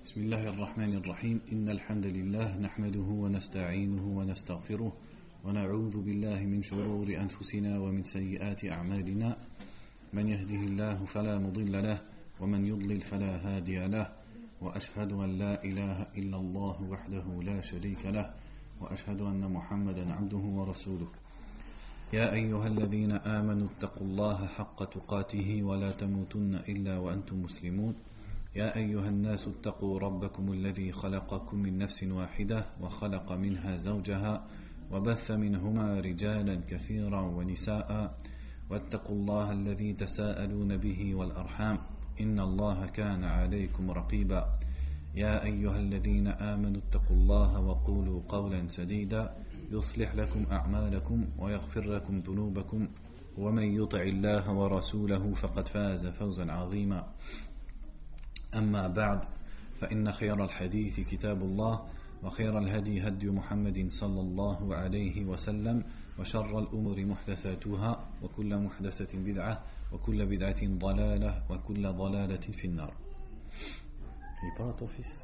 بسم الله الرحمن الرحيم. إن الحمد لله نحمده ونستعينه ونستغفره ونعوذ بالله من شرور أنفسنا ومن سيئات أعمالنا. من يهده الله فلا مضل له ومن يضلل فلا هادي له، وأشهد أن لا إله إلا الله وحده لا شريك له، وأشهد أن محمدا عبده ورسوله. يا أيها الذين آمنوا اتقوا الله حق تقاته ولا تموتن إلا وأنتم مسلمون. يا أيها الناس اتقوا ربكم الذي خلقكم من نفس واحدة وخلق منها زوجها وبث منهما رجالا كثيرا ونساء، واتقوا الله الذي تساءلون به والأرحام إن الله كان عليكم رقيبا. يا أيها الذين آمنوا اتقوا الله وقولوا قولا سديدا يصلح لكم أعمالكم ويغفر لكم ذنوبكم، ومن يطع الله ورسوله فقد فاز فوزا عظيما. أما بعد، فإن خير الحديث كتاب الله، وخير الهدي هدي محمد صلى الله عليه وسلم، وشر الأمور محدثاتها، وكل محدثة بدعة، وكل بدعة ضلالة، وكل ضلالة في النار. Il parle à ton fils.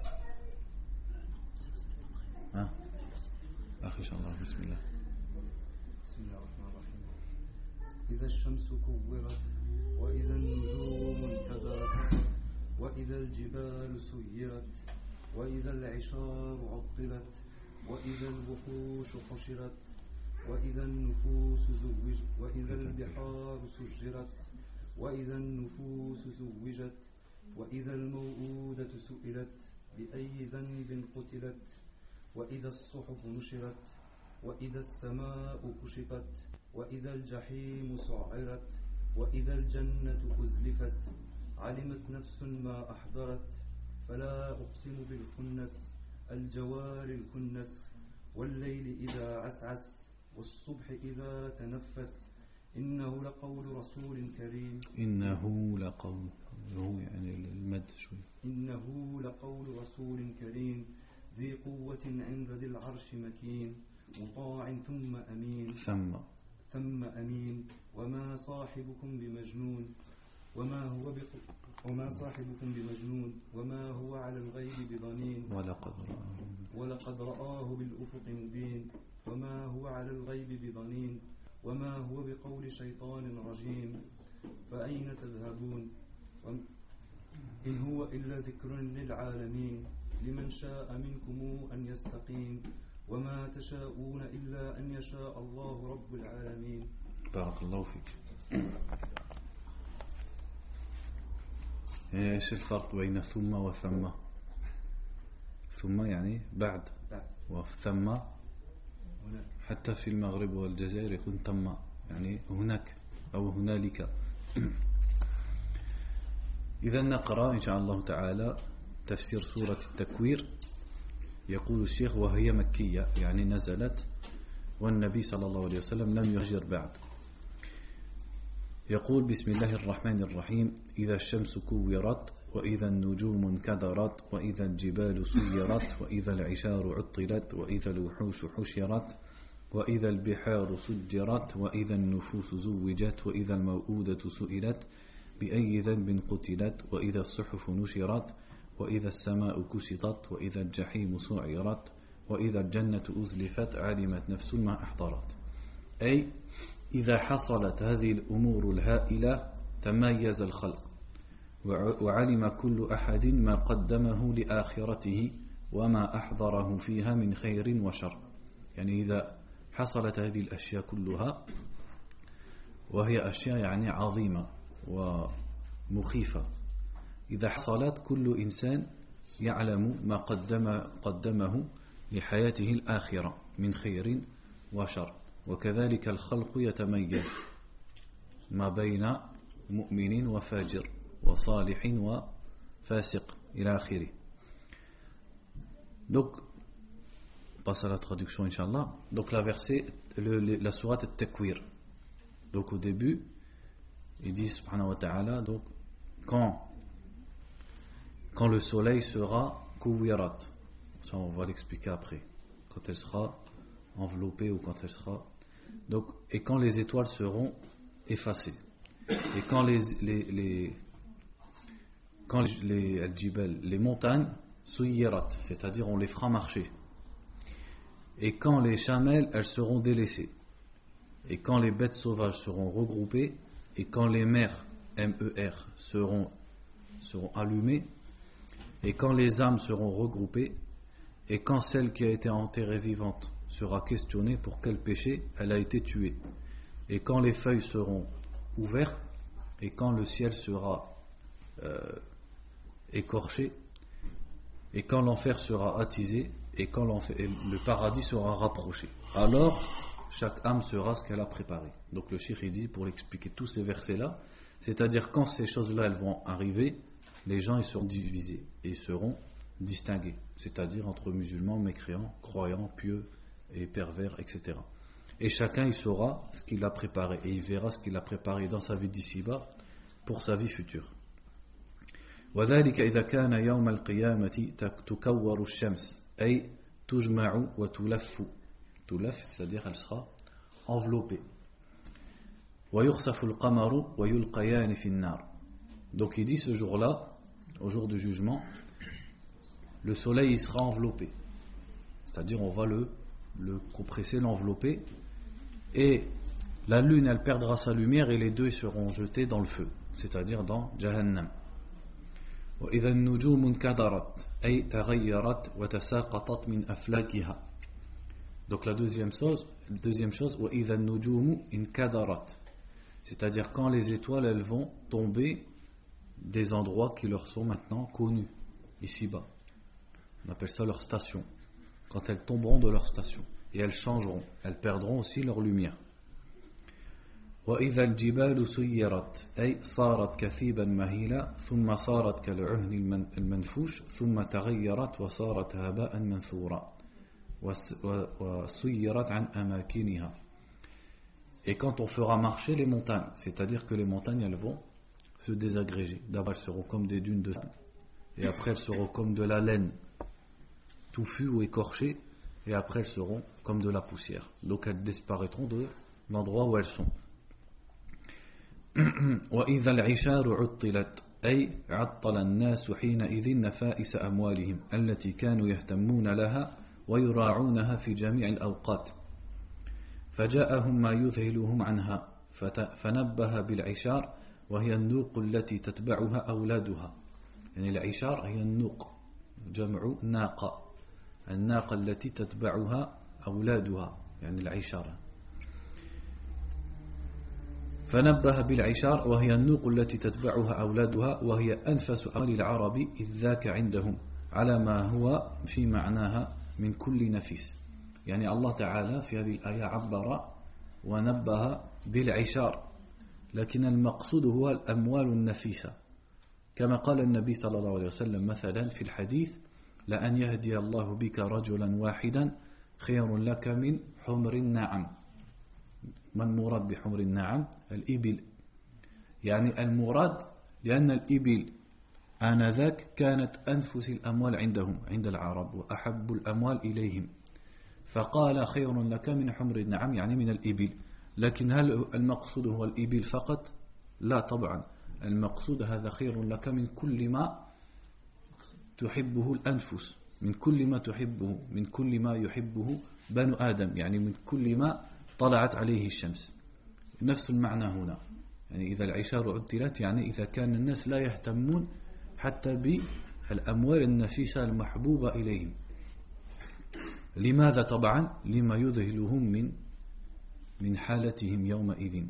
Hein? أخي شاء الله. بسم الله. بسم الله الرحمن الرحيم. إذا الشمس كورت وإذا النجوم انكدرت وإذا الجبال سيرت وإذا العشار عطلت وإذا الوحوش حشرت وإذا النفوس زوجت وإذا البحار سجرت وإذا النفوس زوجت وإذا الموءودة سئلت بأي ذنب قتلت وإذا الصحف نشرت وإذا السماء كشطت وإذا الجحيم سعرت وإذا الجنة أزلفت علمت نفس ما أحضرت فلا أقسم بالخنس الجوار الكنس والليل إذا عسعس والصبح إذا تنفس إنه لقول رسول كريم. إنه لقول، يعني المد شوي. إنه لقول رسول كريم ذي قوة عند ذي العرش مكين مطاع ثم أمين وما صاحبكم بمجنون وما صاحبكم بمجنون وما هو على الغيب بضنين ولقد رآه بالأفق مبين وما هو على الغيب بضنين وما هو بقول شيطان رجيم فأين تذهبون إن هو إلا ذكر للعالمين لمن شاء منكم أن يستقيم وما تشاءون إلا أن يشاء الله رب العالمين. بارك الله فيك. ايش الفرق بين ثم وثم؟ ثم يعني بعد، وثم حتى في المغرب والجزائر يكون ثم، يعني هناك أو هنالك. إذا نقرأ إن شاء الله تعالى تفسير سورة التكوير. يقول الشيخ: وهي مكية، يعني نزلت والنبي صلى الله عليه وسلم لم يهجر بعد. يقول: بسم الله الرحمن الرحيم. إذا الشمس كورت وإذا النجوم انكدرت وإذا الجبال سيرت وإذا العشار عطلت وإذا الوحوش حشرت وإذا البحار سجرت وإذا النفوس زوجت وإذا الموءودة سئلت بأي ذنب قتلت وإذا الصحف نشرت وإذا السماء كشطت وإذا الجحيم سعرت وإذا الجنة أزلفت علمت نفس ما أحضرت. أي إذا حصلت هذه الأمور الهائلة تميز الخلق، وعلم كل أحد ما قدمه لآخرته وما أحضره فيها من خير وشر. يعني إذا حصلت هذه الأشياء كلها، وهي أشياء يعني عظيمة ومخيفة، إذا حصلت كل إنسان يعلم ما قدمه لحياته الآخرة من خير وشر. وكذلك الخلق يتميز ما بين مؤمن وفاجر وصالح وفاسق إلى آخره. Donc, on passe à la traduction, Inch'Allah. Donc, la sourate At-Takwir. Donc, au début, il dit, subhanahu wa ta'ala, donc, quand le soleil sera kuwirat, ça on va l'expliquer après, quand elle sera enveloppée ou quand elle sera, donc, et quand les étoiles seront effacées, et quand les montagnes suyirat, c'est-à-dire on les fera marcher. Et quand les chamelles, elles seront délaissées. Et quand les bêtes sauvages seront regroupées, et quand les mers, M-E-R, seront allumées, et quand les âmes seront regroupées, et quand celle qui a été enterrée vivante sera questionnée pour quel péché elle a été tuée, et quand les feuilles seront ouvertes, et quand le ciel sera écorché, et quand l'enfer sera attisé, et quand le paradis sera rapproché, alors chaque âme sera ce qu'elle a préparé. Donc le cheikh dit, pour expliquer tous ces versets là, c'est-à-dire quand ces choses là elles vont arriver, les gens ils seront divisés et ils seront distingués, c'est-à-dire entre musulmans, mécréants, croyants, pieux et pervers, etc. Et chacun il saura ce qu'il a préparé et il verra ce qu'il a préparé dans sa vie d'ici-bas pour sa vie future. وذلك إذا كان يوم القيامة تكور الشمس أي تجمع وتلف تلف, c'est-à-dire elle sera enveloppée. ويخسف القمر ويلقيان في النار. Donc il dit ce jour-là, au jour du jugement, le soleil il sera enveloppé, c'est-à-dire on va le compresser, l'envelopper, et la lune elle perdra sa lumière et les deux seront jetés dans le feu, c'est-à-dire dans Jahannam. وإذا النجوم انكدرت أي تغيرت وتساقطت من أفلاكها. Donc la deuxième chose وإذا النجوم انكدرت, c'est-à-dire quand les étoiles elles vont tomber des endroits qui leur sont maintenant connus ici-bas. On appelle ça leur station. Quand elles tomberont de leur station et elles changeront, elles perdront aussi leur lumière. وإذا الجبال سيرت أي صارت كثيبا مهيلا ثم صارت كالعهن المنفوش ثم تغيرت وصارت هباء منثورا وسيرت عن أماكنها. Et quand on fera marcher les montagnes, c'est-à-dire que les montagnes elles vont se désagréger. D'abord elles seront comme des dunes de sable, et après elles seront comme de la laine touffue ou écorchée, et après elles seront comme de la poussière. Donc elles disparaîtront de l'endroit où elles sont. وإذا العشار عطلت أي عطل الناس حينئذ نفائس أموالهم التي كانوا يهتمون لها ويراعونها في جميع الأوقات فجاءهم ما يذهلهم عنها فنبه بالعشار وهي النوق التي تتبعها أولادها. يعني العشار هي النوق جمع ناقة, الناقة التي تتبعها أولادها يعني العشار. فنبه بالعشار وهي النوق التي تتبعها أولادها وهي أنفس أموال العرب إذ ذاك عندهم على ما هو في معناها من كل نفيس. يعني الله تعالى في هذه الآية عبر ونبه بالعشار, لكن المقصود هو الأموال النفيسة, كما قال النبي صلى الله عليه وسلم مثلا في الحديث لأن يهدي الله بك رجلا واحدا خير لك من حمر النعم. ما المراد بحمر النعم؟ الإبل, يعني المراد لأن الإبل آنذاك كانت أنفس الأموال عندهم عند العرب وأحب الأموال إليهم, فقال خير لك من حمر النعم يعني من الإبل. لكن هل المقصود هو الإبل فقط؟ لا طبعا, المقصود هذا خير لك من كل ما تحبه الأنفس, من كل ما تحبه, من كل ما يحبه بنو آدم, يعني من كل ما طلعت عليه الشمس. نفس المعنى هنا, يعني إذا العشار عدلت يعني إذا كان الناس لا يهتمون حتى بالأموال النفيسة المحبوبة إليهم. لماذا؟ طبعا لما يذهلهم من حالتهم يومئذ.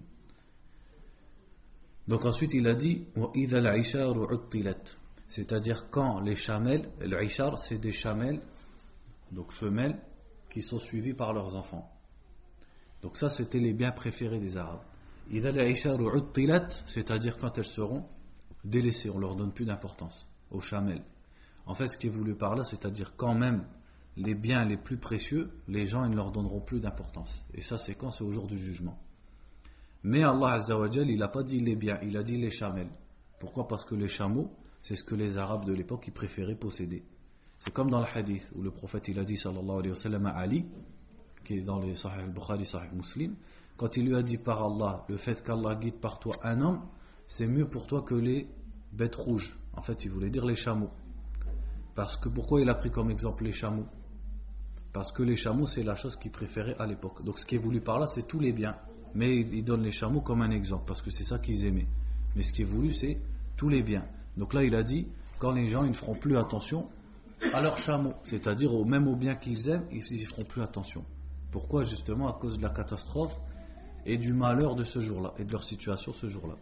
Donc ensuite il a dit وإذا العشار عدلت, c'est-à-dire quand les chamelles, le ishar c'est des chamelles donc femelles qui sont suivies par leurs enfants. Donc ça c'était les biens préférés des Arabes. إذا العشار عدلت, c'est-à-dire quand elles seront délaissées, on leur donne plus d'importance aux chamelles. En fait ce qui est voulu par là, c'est-à-dire quand même les biens les plus précieux, les gens ils ne leur donneront plus d'importance. Et ça c'est quand? C'est au jour du jugement. Mais Allah Azza wa Jal, il n'a pas dit les biens, il a dit les chamelles. Pourquoi? Parce que les chameaux, c'est ce que les Arabes de l'époque ils préféraient posséder. C'est comme dans le hadith où le prophète il a dit sallallahu alayhi wa sallam à Ali, qui est dans les Sahih al-Bukhari, Sahih Muslim, quand il lui a dit par Allah, le fait qu'Allah guide par toi un homme, c'est mieux pour toi que les bêtes rouges. En fait, il voulait dire les chameaux. Parce que pourquoi il a pris comme exemple les chameaux? Parce que les chameaux, c'est la chose qu'il préférait à l'époque. Donc ce qui est voulu par là, c'est tous les biens. Mais il donne les chameaux comme un exemple, parce que c'est ça qu'ils aimaient. Mais ce qui est voulu, c'est tous les biens. Donc là, il a dit, quand les gens ils ne feront plus attention à leurs chameaux, c'est-à-dire même aux biens qu'ils aiment, ils ne feront plus attention. Pourquoi? Justement à cause de la catastrophe et du malheur de ce jour-là, et de leur situation ce jour-là.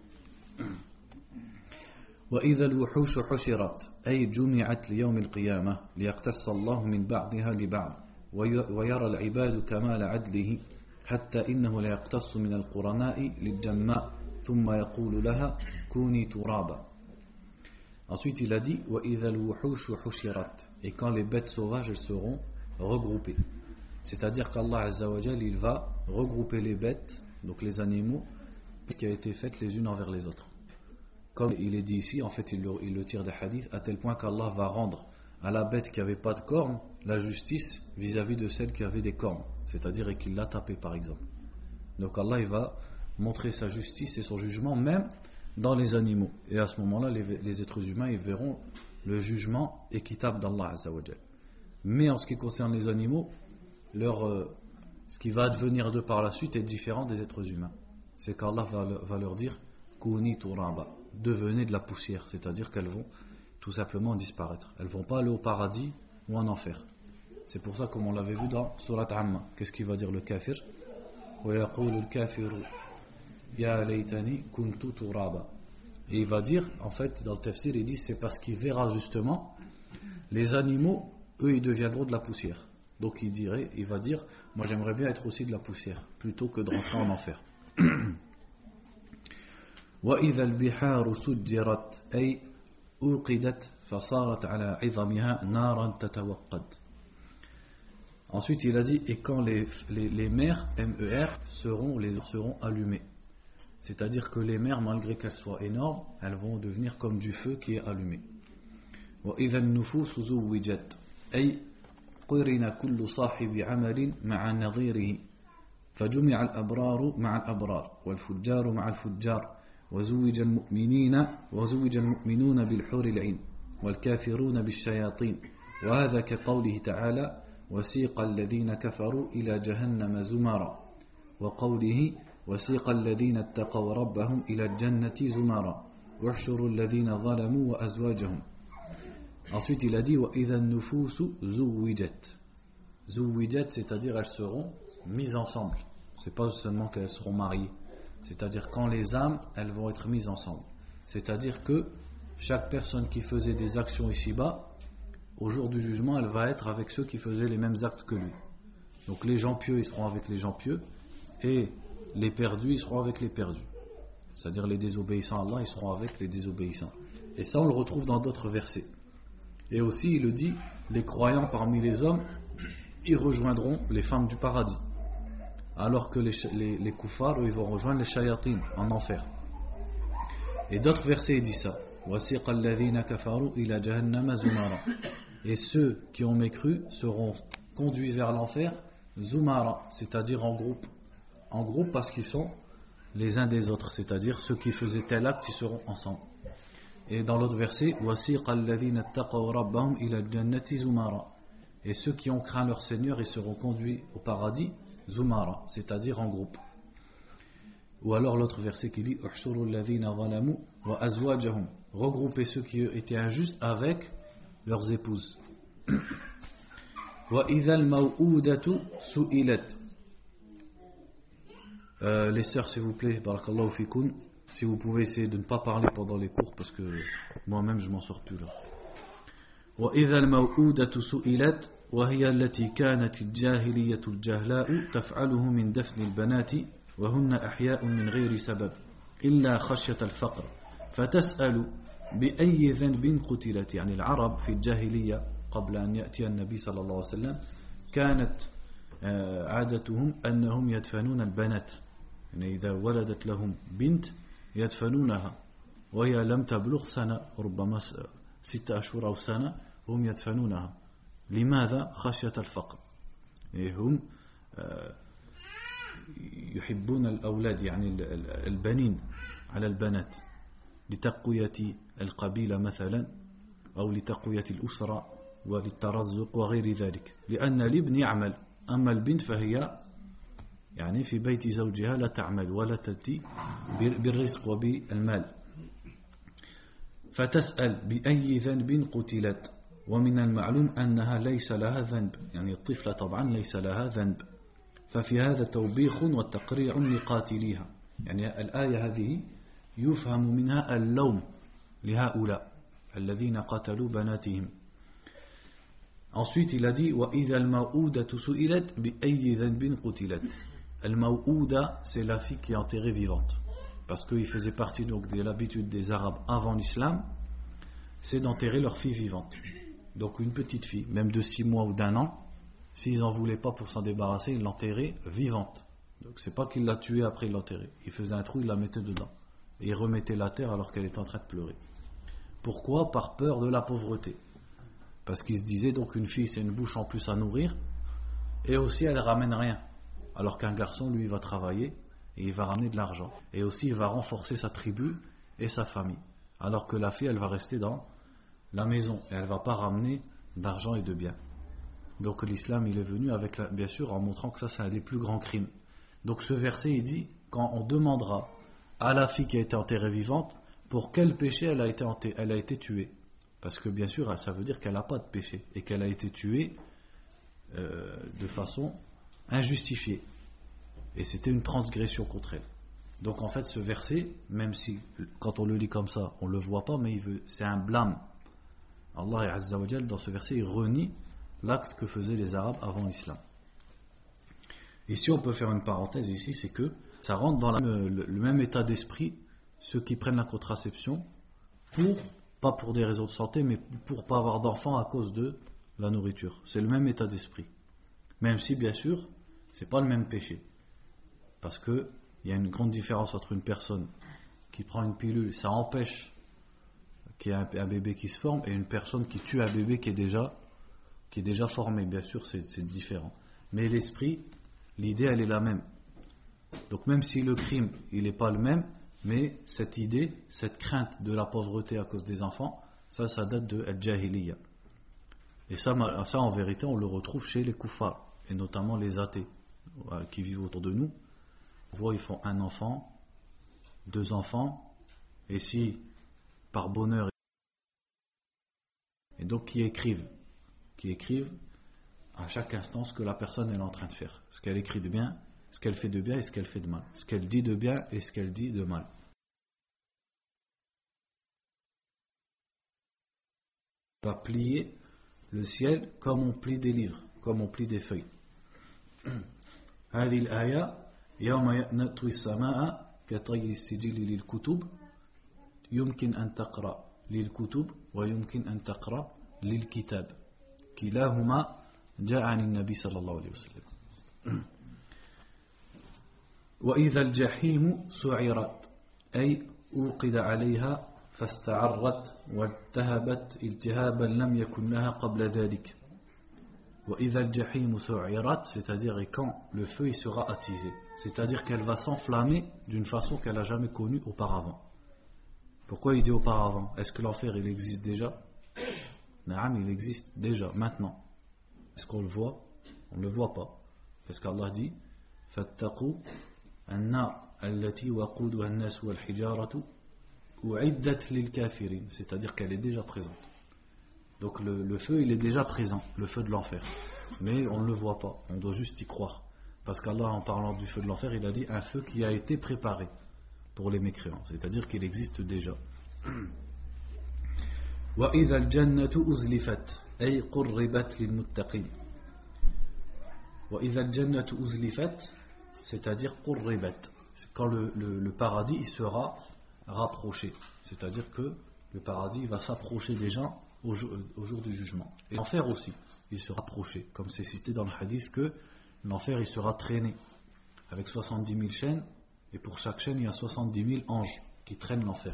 وإذا الوحوش حشرت أي جمعت ليوم القيامة ليقتص الله من بعضها لبعض ويرى العباد كمال عدله حتى إنه ليقتص من القرناء للجماء ثم يقول لها كوني ترابا. Ensuite il a dit وإذا الوحوش حشرت, et quand les bêtes sauvages elles seront regroupées, c'est-à-dire qu'Allah Azza wa Jal il va regrouper les bêtes, donc les animaux qui a été faites les unes envers les autres. Comme il est dit ici, en fait il le tire des hadiths, à tel point qu'Allah va rendre à la bête qui n'avait pas de cornes la justice vis-à-vis de celle qui avait des cornes, c'est-à-dire qu'il l'a tapé par exemple. Donc Allah il va montrer sa justice et son jugement même dans les animaux, et à ce moment-là les êtres humains ils verront le jugement équitable d'Allah Azza wa Jal. Mais en ce qui concerne les animaux, ce qui va advenir de par la suite est différent des êtres humains. C'est qu'Allah va leur dire Kuni turaba, devenez de la poussière, c'est-à-dire qu'elles vont tout simplement disparaître. Elles ne vont pas aller au paradis ou en enfer. C'est pour ça, comme on l'avait vu dans Surat Amma, qu'est-ce qu'il va dire le kafir? Et il va dire, en fait, dans le tafsir, il dit c'est parce qu'il verra justement les animaux, eux, ils deviendront de la poussière. Donc il va dire, moi j'aimerais bien être aussi de la poussière, plutôt que de rentrer en enfer. وإذا البحار سجرت أي أوقدت فصارت على عظمها نارا تتوقد. Ensuite il a dit et quand les mers MER seront allumées, c'est-à-dire que les mers malgré qu'elles soient énormes elles vont devenir comme du feu qui est allumé. وإذا النفوس زوجت أي قرن كل صاحب عمل مع نظيره فجمع الأبرار مع الأبرار والفجار مع الفجار وزوج المؤمنون بالحور العين والكافرون بالشياطين وهذا كقوله تعالى وسيق الذين كفروا إلى جهنم زمرا وقوله وسيق الذين اتقوا ربهم إلى الجنة زمرا واحشروا الذين ظلموا وأزواجهم. Ensuite il a dit وإذا النفوس زوجت, c'est-à-dire elles seront mises ensemble, c'est pas seulement qu'elles seront mariées, c'est-à-dire quand les âmes elles vont être mises ensemble, c'est-à-dire que chaque personne qui faisait des actions ici-bas au jour du jugement elle va être avec ceux qui faisaient les mêmes actes que lui. Donc les gens pieux ils seront avec les gens pieux et les perdus ils seront avec les perdus, c'est-à-dire les désobéissants à Allah ils seront avec les désobéissants. Et ça on le retrouve dans d'autres versets. Et aussi il le dit, les croyants parmi les hommes ils rejoindront les femmes du paradis, alors que les kuffars ils vont rejoindre les shayatines en enfer. Et d'autres versets il dit ça, وَسِيقَ الَّذِينَ كَفَرُوا إِلَى جَهَنَّمَ زُمَرًا, et ceux qui ont mécru seront conduits vers l'enfer zumara, c'est-à-dire en groupe parce qu'ils sont les uns des autres, c'est-à-dire ceux qui faisaient tel acte ils seront ensemble. Et dans l'autre verset وَسِيقَ الَّذِينَ اتَّقَوْا رَبَّهُمْ إِلَى الْجَنَّةِ زُمَرًا, et ceux qui ont craint leur Seigneur ils seront conduits au paradis zumara, c'est-à-dire en groupe. Ou alors l'autre verset qui dit احشروا الذين ظلموا وأزواجهم, regrouper ceux qui étaient injustes avec leurs épouses. وإذا الموءودة سئلت. Les sœurs s'il vous plaît, barakallahu fikoun, si vous pouvez essayer de ne pas parler pendant les cours parce que moi-même je m'en sors plus là. وإذا الموءودة سئلت وهي التي كانت الجاهلية الجهلاء تفعله من دفن البنات وهن أحياء من غير سبب إلا خشية الفقر فتسأل بأي ذنب قتلت. يعني العرب في الجاهلية قبل أن يأتي النبي صلى الله عليه وسلم كانت عادتهم أنهم يدفنون البنات، يعني إذا ولدت لهم بنت يدفنونها وهي لم تبلغ سنة، ربما 6 أشهر أو سنة، هم يدفنونها. لماذا؟ خشية الفقر. هم يحبون الأولاد يعني البنين على البنات لتقوية القبيلة مثلا أو لتقوية الأسرة وللترزق وغير ذلك لأن الابن يعمل أما البنت فهي يعني في بيت زوجها لا تعمل ولا تأتي بالرزق وبالمال فتسأل بأي ذنب قتلت ومن المعلوم أنها ليس لها ذنب يعني الطفلة طبعا ليس لها ذنب ففي هذا توبيخ والتقريع لقاتليها يعني الآية هذه يفهم منها اللوم لهؤلاء الذين قتلوا بناتهم. Ensuite il a dit وإذا الموءودة سئلت بأي ذنب قتلت. الموءودة c'est la fille qui est enterrée vivante parce qu'il faisait partie donc de l'habitude des Arabes avant l'islam, c'est d'enterrer leur fille vivante. Donc une petite fille, même de 6 mois ou d'1 an, s'ils n'en voulaient pas pour s'en débarrasser, ils l'enterraient vivante. Donc c'est pas qu'il l'a tuée après il l'enterrait. Il faisait un trou, il la mettait dedans. Et il remettait la terre alors qu'elle était en train de pleurer. Pourquoi ? Par peur de la pauvreté. Parce qu'il se disait donc une fille c'est une bouche en plus à nourrir et aussi elle ramène rien. Alors qu'un garçon lui il va travailler et il va ramener de l'argent. Et aussi il va renforcer sa tribu et sa famille. Alors que la fille elle va rester dans la maison et elle ne va pas ramener d'argent et de biens. Donc l'islam il est venu avec bien sûr en montrant que ça c'est un des plus grands crimes. Donc ce verset il dit quand on demandera à la fille qui a été enterrée vivante pour quel péché elle a été tuée. Parce que bien sûr ça veut dire qu'elle n'a pas de péché et qu'elle a été tuée de façon injustifiée. Et c'était une transgression contre elle. Donc en fait ce verset, même si quand on le lit comme ça on ne le voit pas, mais c'est un blâme. Allah Azza wa Jal dans ce verset il renie l'acte que faisaient les Arabes avant l'islam. Ici on peut faire une parenthèse ici, c'est que ça rentre dans le même état d'esprit ceux qui prennent la contraception pas pour des raisons de santé mais pour pas avoir d'enfants à cause de la nourriture. C'est le même état d'esprit. Même si bien sûr c'est pas le même péché. Parce que il y a une grande différence entre une personne qui prend une pilule, ça empêche qu'il y ait un bébé qui se forme, et une personne qui tue un bébé qui est déjà formé. Bien sûr c'est différent. Mais l'esprit, l'idée elle est la même. Donc même si le crime il n'est pas le même, mais cette idée, cette crainte de la pauvreté à cause des enfants, ça date de al-jahiliya. Et ça en vérité on le retrouve chez les kuffars, et notamment les athées qui vivent autour de nous. On voit ils font 1 enfant, 2 enfants, et si par bonheur, et donc qui écrivent à chaque instant ce que la personne est en train de faire, ce qu'elle écrit de bien, ce qu'elle fait de bien et ce qu'elle fait de mal, ce qu'elle dit de bien et ce qu'elle dit de mal. On va plier le ciel comme on plie des livres, comme on plie des feuilles. هذه الآية يوم نطوي السماء كطي السجل للكتب يمكن أن تقرأ للكتب ويمكن أن تقرأ للكتاب كلاهما جاء عن النبي صلى الله عليه وسلم. وإذا الجحيم سعرت أي أوقد عليها فاستعرت والتهبت التهابا لم يكن لها قبل ذلك. وإذا الجحيم سعرت, c'est-à-dire quand le feu il sera attisé, c'est-à-dire qu'elle va s'enflammer d'une façon qu'elle n'a jamais connue auparavant. Pourquoi il dit auparavant? Est-ce que l'enfer il existe déjà? Naam, il existe déjà, maintenant. Est-ce qu'on le voit? On ne le voit pas. Parce qu'Allah dit فَاتَّقُوا النَّارَ الَّتِي وَقُودُهَا النَّاسُ وَالْحِجَارَةُ أُعِدَّتْ لِلْكَافِرِينَ, c'est-à-dire qu'elle est déjà présente. Donc le feu il est déjà présent, le feu de l'enfer. Mais on ne le voit pas, on doit juste y croire. Parce qu'Allah en parlant du feu de l'enfer, il a dit un feu qui a été préparé pour les mécréants, c'est-à-dire qu'il existe déjà. وَإِذَا الْجَنَّةُ أُزْلِفَتْ أي قُرِّبَتْ لِلْمُتَّقِينَ. وَإِذَا الْجَنَّةُ أُزْلِفَتْ, c'est-à-dire قُرِّبَتْ, quand le paradis il sera rapproché, c'est-à-dire que le paradis va s'approcher des gens au jour du jugement. Et l'enfer aussi, il sera approché, comme c'est cité dans le hadith que l'enfer il sera traîné avec 70 000 chaînes, et pour chaque chaîne il y a 70 000 anges qui traînent l'enfer.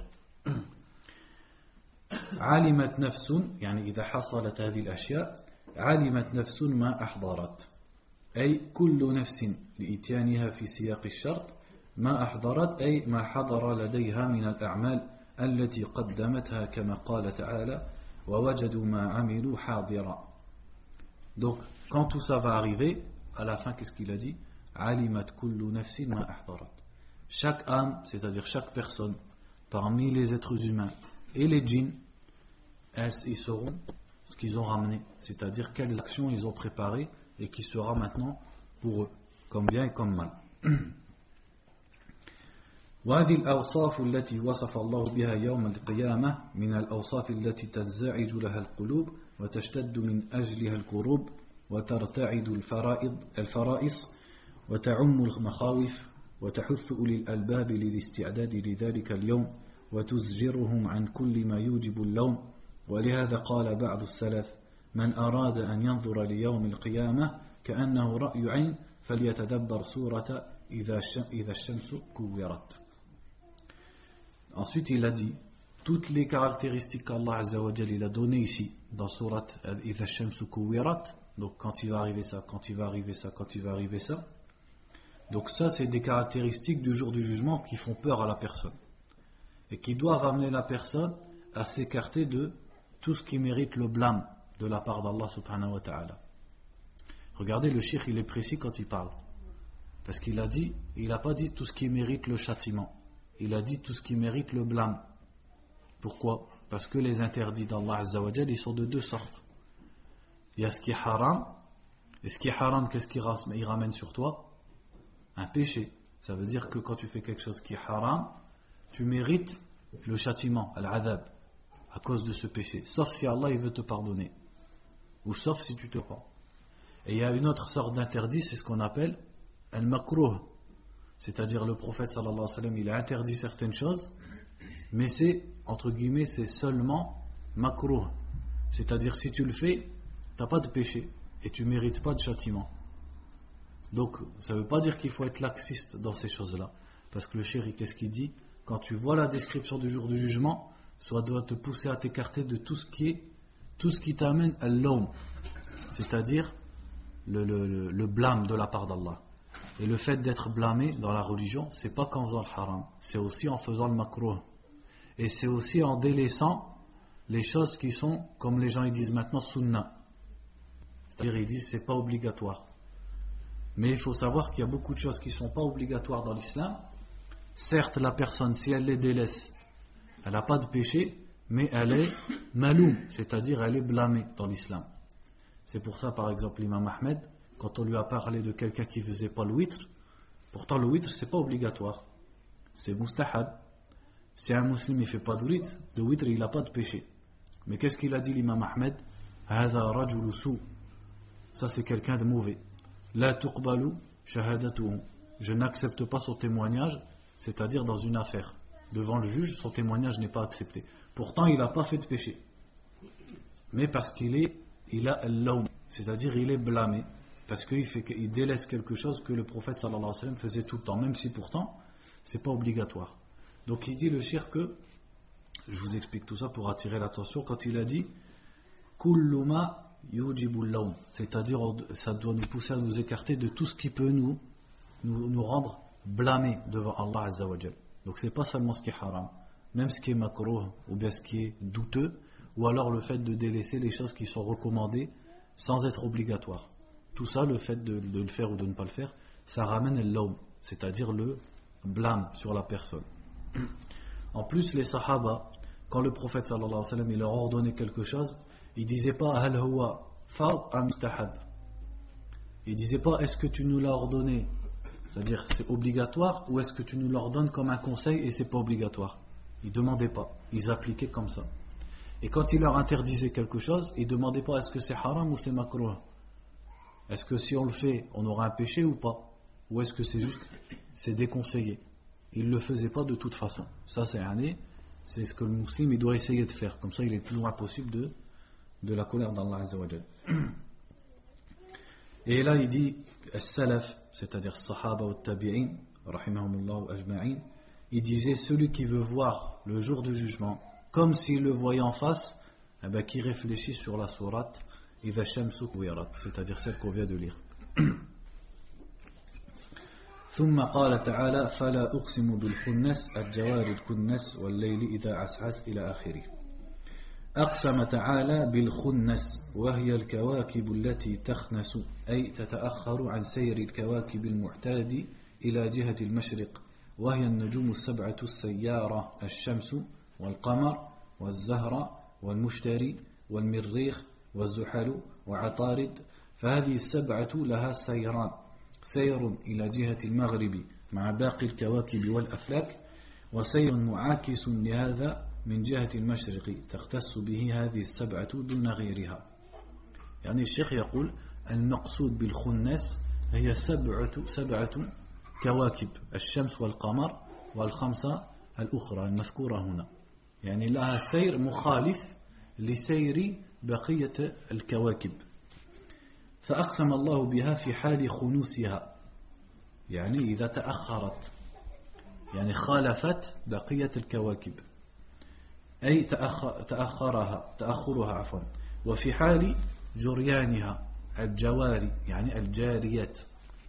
علمت نفس, يعني إذا حصلت هذه الأشياء علمت نفس ما أحضرت أي كل نفس لإتيانها في سياق الشرط ما أحضرت أي ما حضر لديها من الأعمال التي قدمتها كما قال تعالى ووجدوا ما عملوا حاضرا. Donc quand tout ça va arriver, à la fin qu'est-ce qu'il a dit? علمت كل نفس ما أحضرت. Chaque âme, c'est-à-dire chaque personne parmi les êtres humains et les djinns, ils sauront ce qu'ils ont ramené, c'est-à-dire quelles actions ils ont préparées et qui sera maintenant pour eux, comme bien et comme mal. وهذه الأوصاف التي وصف الله بها يوم القيامة من الأوصاف التي تنزعج لها القلوب وتشتد من أجلها الكروب وترتعد الفرائص وتعم المخاوف وتحث أولي الألباب للاستعداد لذلك اليوم وتزجرهم عن كل ما يوجب اللوم. ولهذا قال بعض السلف من أراد أن ينظر ليوم القيامة كأنه رأي عين فليتدبر سورة إذا الشمس كورت. Ensuite il a dit toutes les caractéristiques qu'Allah Azza wa Jal il a données ici dans Surat إذا الشمس كورت. Donc quand il va arriver ça, quand il va arriver ça, quand il va arriver ça. Donc ça c'est des caractéristiques du jour du jugement qui font peur à la personne et qui doivent amener la personne à s'écarter de tout ce qui mérite le blâme de la part d'Allah subhanahu wa ta'ala. Regardez, le cheikh il est précis quand il parle, parce qu'il a dit, il n'a pas dit tout ce qui mérite le châtiment, il a dit tout ce qui mérite le blâme. Pourquoi? Parce que les interdits d'Allah Azza wa Jal ils sont de deux sortes. Il y a ce qui est haram, et ce qui est haram, qu'est-ce qu'il ramène sur toi? Un péché. Ça veut dire que quand tu fais quelque chose qui est haram, tu mérites le châtiment, al-adhab, à cause de ce péché, sauf si Allah il veut te pardonner, ou sauf si tu te prends. Et il y a une autre sorte d'interdit, c'est ce qu'on appelle al-makruh, c'est-à-dire le prophète sallallahu alayhi wa sallam il a interdit certaines choses, mais c'est, entre guillemets, c'est seulement makruh, c'est-à-dire si tu le fais, tu n'as pas de péché, et tu ne mérites pas de châtiment. Donc ça ne veut pas dire qu'il faut être laxiste dans ces choses-là, parce que le chéri, qu'est-ce qu'il dit? Quand tu vois la description du jour du jugement, ça doit te pousser à t'écarter de tout ce qui t'amène à l'homme, c'est-à-dire le blâme de la part d'Allah. Et le fait d'être blâmé dans la religion, c'est pas qu'en faisant le haram, c'est aussi en faisant le makruh, et c'est aussi en délaissant les choses qui sont, comme les gens ils disent maintenant, sunnah, c'est-à-dire ils disent c'est pas obligatoire. Mais il faut savoir qu'il y a beaucoup de choses qui ne sont pas obligatoires dans l'islam. Certes, la personne, si elle les délaisse, elle n'a pas de péché, mais elle est maloum, c'est-à-dire elle est blâmée dans l'islam. C'est pour ça, par exemple, l'imam Ahmed, quand on lui a parlé de quelqu'un qui ne faisait pas le witr, pourtant le witr, ce n'est pas obligatoire. C'est mustahab. Si un musulman ne fait pas de witr, il n'a pas de péché. Mais qu'est-ce qu'il a dit l'imam Ahmed? Hada rajulu su. Ça, c'est quelqu'un de mauvais. La tuqbalu shahadatuhu. Je n'accepte pas son témoignage, c'est-à-dire dans une affaire. Devant le juge, son témoignage n'est pas accepté. Pourtant, il n'a pas fait de péché. Mais parce qu'il a al-lawm, c'est-à-dire il est blâmé, parce qu'il délaisse quelque chose que le prophète sallallahu alayhi wa sallam faisait tout le temps, même si pourtant, c'est pas obligatoire. Donc il dit le shirk que, je vous explique tout ça pour attirer l'attention, quand il a dit kullu ma yujibul lawm, c'est-à-dire ça doit nous pousser à nous écarter de tout ce qui peut nous rendre blâmés devant Allah Azza wa Jal. Donc c'est pas seulement ce qui est haram, même ce qui est makruh ou bien ce qui est douteux, ou alors le fait de délaisser les choses qui sont recommandées sans être obligatoires. Tout ça, le fait de le faire ou de ne pas le faire, ça ramène al-lawm, c'est-à-dire le blâme sur la personne. En plus, les sahaba, quand le prophète sallallahu alayhi wa sallam il leur ordonnait quelque chose, il disait pas hal huwa fard am mustahab. Il disait pas est-ce que tu nous l'as ordonné, c'est-à-dire c'est obligatoire, ou est-ce que tu nous l'ordonnes comme un conseil et c'est pas obligatoire. Ils demandaient pas, ils appliquaient comme ça. Et quand il leur interdisait quelque chose, ils demandaient pas est-ce que c'est haram ou c'est makruh. Est-ce que si on le fait, on aura un péché ou pas, ou est-ce que c'est juste c'est déconseillé. Il le faisait pas de toute façon. Ça c'est ce que le musulman il doit essayer de faire. Comme ça il est le plus loin possible de la colère d'Allah Azza wa Jal. Et là il dit as-salaf, c'est-à-dire sahaba ou tabi'in rahimahumullah ajma'in, il disait celui qui veut voir le jour du jugement comme s'il le voyait en face, qui réfléchit sur la sourate idha shamsu kuwirat, c'est-à-dire celle qu'on vient de lire. ثم قال تعالى فلا أقسم بالخنس الجوار الكنس والليل إذا عسعس إلى آخره. أقسم تعالى بالخنس وهي الكواكب التي تخنس أي تتأخر عن سير الكواكب المعتاد إلى جهة المشرق وهي النجوم السبعة السيارة الشمس والقمر والزهرة والمشتري والمريخ والزحل وعطارد فهذه السبعة لها سيران سير إلى جهة المغرب مع باقي الكواكب والأفلاك وسير معاكس لهذا من جهة المشرق تختص به هذه السبعة دون غيرها يعني الشيخ يقول المقصود بالخنس هي سبعة كواكب الشمس والقمر والخمسة الأخرى المذكورة هنا يعني لها سير مخالف لسير بقية الكواكب فأقسم الله بها في حال خنوسها يعني إذا تأخرت يعني خالفت بقية الكواكب أي تأخرها عفوا وفي حال جريانها الجواري يعني الجاريات